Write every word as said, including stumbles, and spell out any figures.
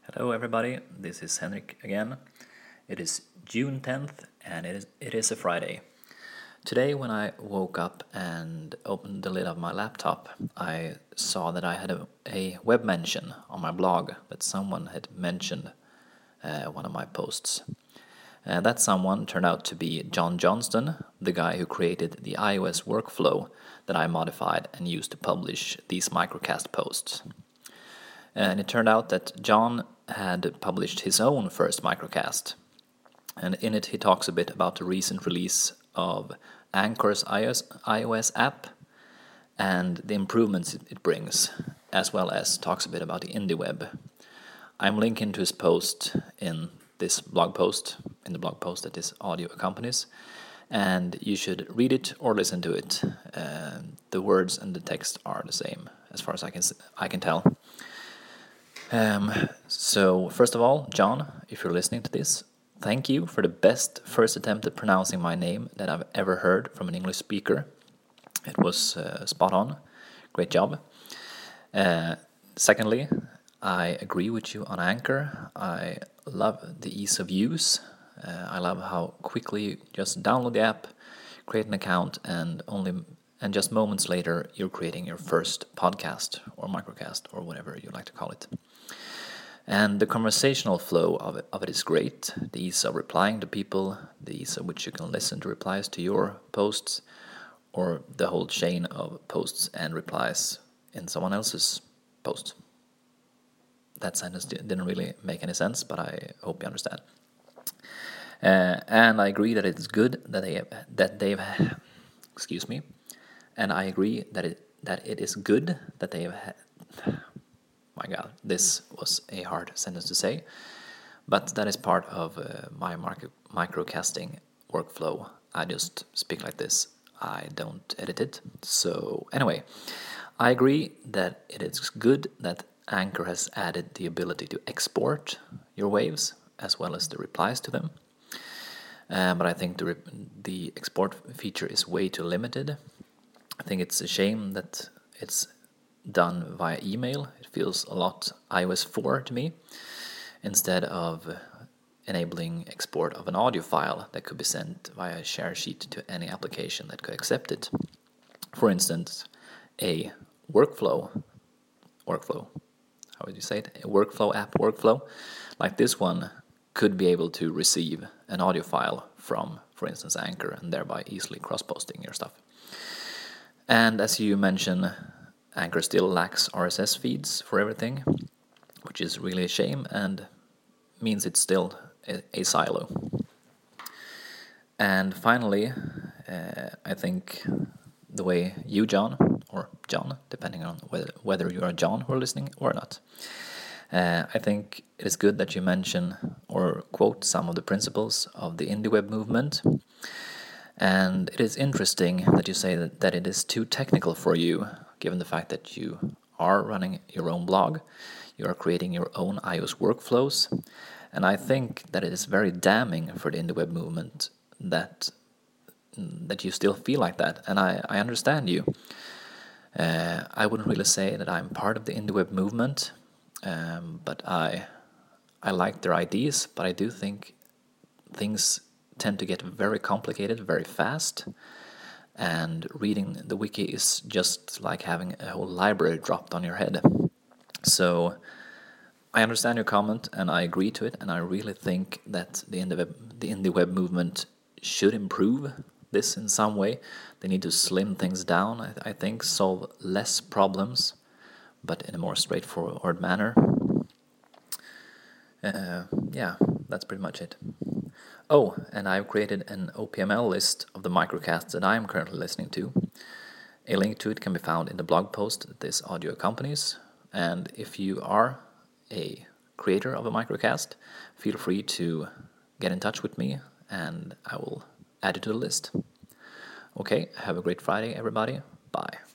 Hello everybody, this is Henrik again. It is June tenth and it is, it is a Friday. Today when I woke up and opened the lid of my laptop, I saw that I had a, a web mention on my blog that someone had mentioned uh, one of my posts. Uh, that someone turned out to be John Johnston, the guy who created the iOS workflow that I modified and used to publish these microcast posts. And it turned out that John had published his own first microcast. And in it he talks a bit about the recent release of Anchor's iOS, iOS app and the improvements it brings, as well as talks a bit about the IndieWeb. I'm linking to his post in this blog post, in the blog post that this audio accompanies, and you should read it or listen to it. Uh, the words and the text are the same, as far as I can I can tell. Um, so, first of all, John, if you're listening to this, thank you for the best first attempt at pronouncing my name that I've ever heard from an English speaker. It was uh, spot on. Great job. Uh, secondly, I agree with you on Anchor. I love the ease of use. Uh, I love how quickly you just download the app, create an account, and only and just moments later you're creating your first podcast or microcast or whatever you like to call it. And the conversational flow of it, of it is great. The ease of replying to people, the ease of which you can listen to replies to your posts, or the whole chain of posts and replies in someone else's post. That sentence didn't really make any sense, but I hope you understand. Uh, and I agree that it's good that they have, that they've excuse me. And I agree that it that it is good that they have had. My God, this was a hard sentence to say, but that is part of uh, my micro, microcasting workflow. I just speak like this. I don't edit it. So anyway, I agree that it is good that Anchor has added the ability to export your waves as well as the replies to them. Uh, but I think the the export feature is way too limited. I think it's a shame that it's done via email. It feels a lot i O S four to me, instead of enabling export of an audio file that could be sent via a share sheet to any application that could accept it. For instance, a workflow, workflow, how would you say it? A workflow app workflow, like this one, could be able to receive an audio file from, for instance, Anchor, and thereby easily cross-posting your stuff. And as you mentioned, Anchor still lacks R S S feeds for everything, which is really a shame and means it's still a, a silo. And finally, uh, I think the way you, John, or John, depending on whether, whether you are John who are listening or not, uh, I think it is good that you mention or quote some of the principles of the IndieWeb movement. And it is interesting that you say that, that it is too technical for you, given the fact that you are running your own blog, you are creating your own iOS workflows, and I think that it is very damning for the IndieWeb movement that that you still feel like that, and I, I understand you. Uh, I wouldn't really say that I'm part of the IndieWeb movement, um, but I I like their ideas, but I do think things tend to get very complicated very fast, and reading the wiki is just like having a whole library dropped on your head. So I understand your comment and I agree to it, and I really think that the IndieWeb, the IndieWeb movement should improve this in some way. They need to slim things down, I, I think, solve less problems, but in a more straightforward manner. Uh, yeah, that's pretty much it. Oh, and I've created an O P M L list of the microcasts that I am currently listening to. A link to it can be found in the blog post that this audio accompanies. And if you are a creator of a microcast, feel free to get in touch with me and I will add it to the list. Okay, have a great Friday, everybody. Bye.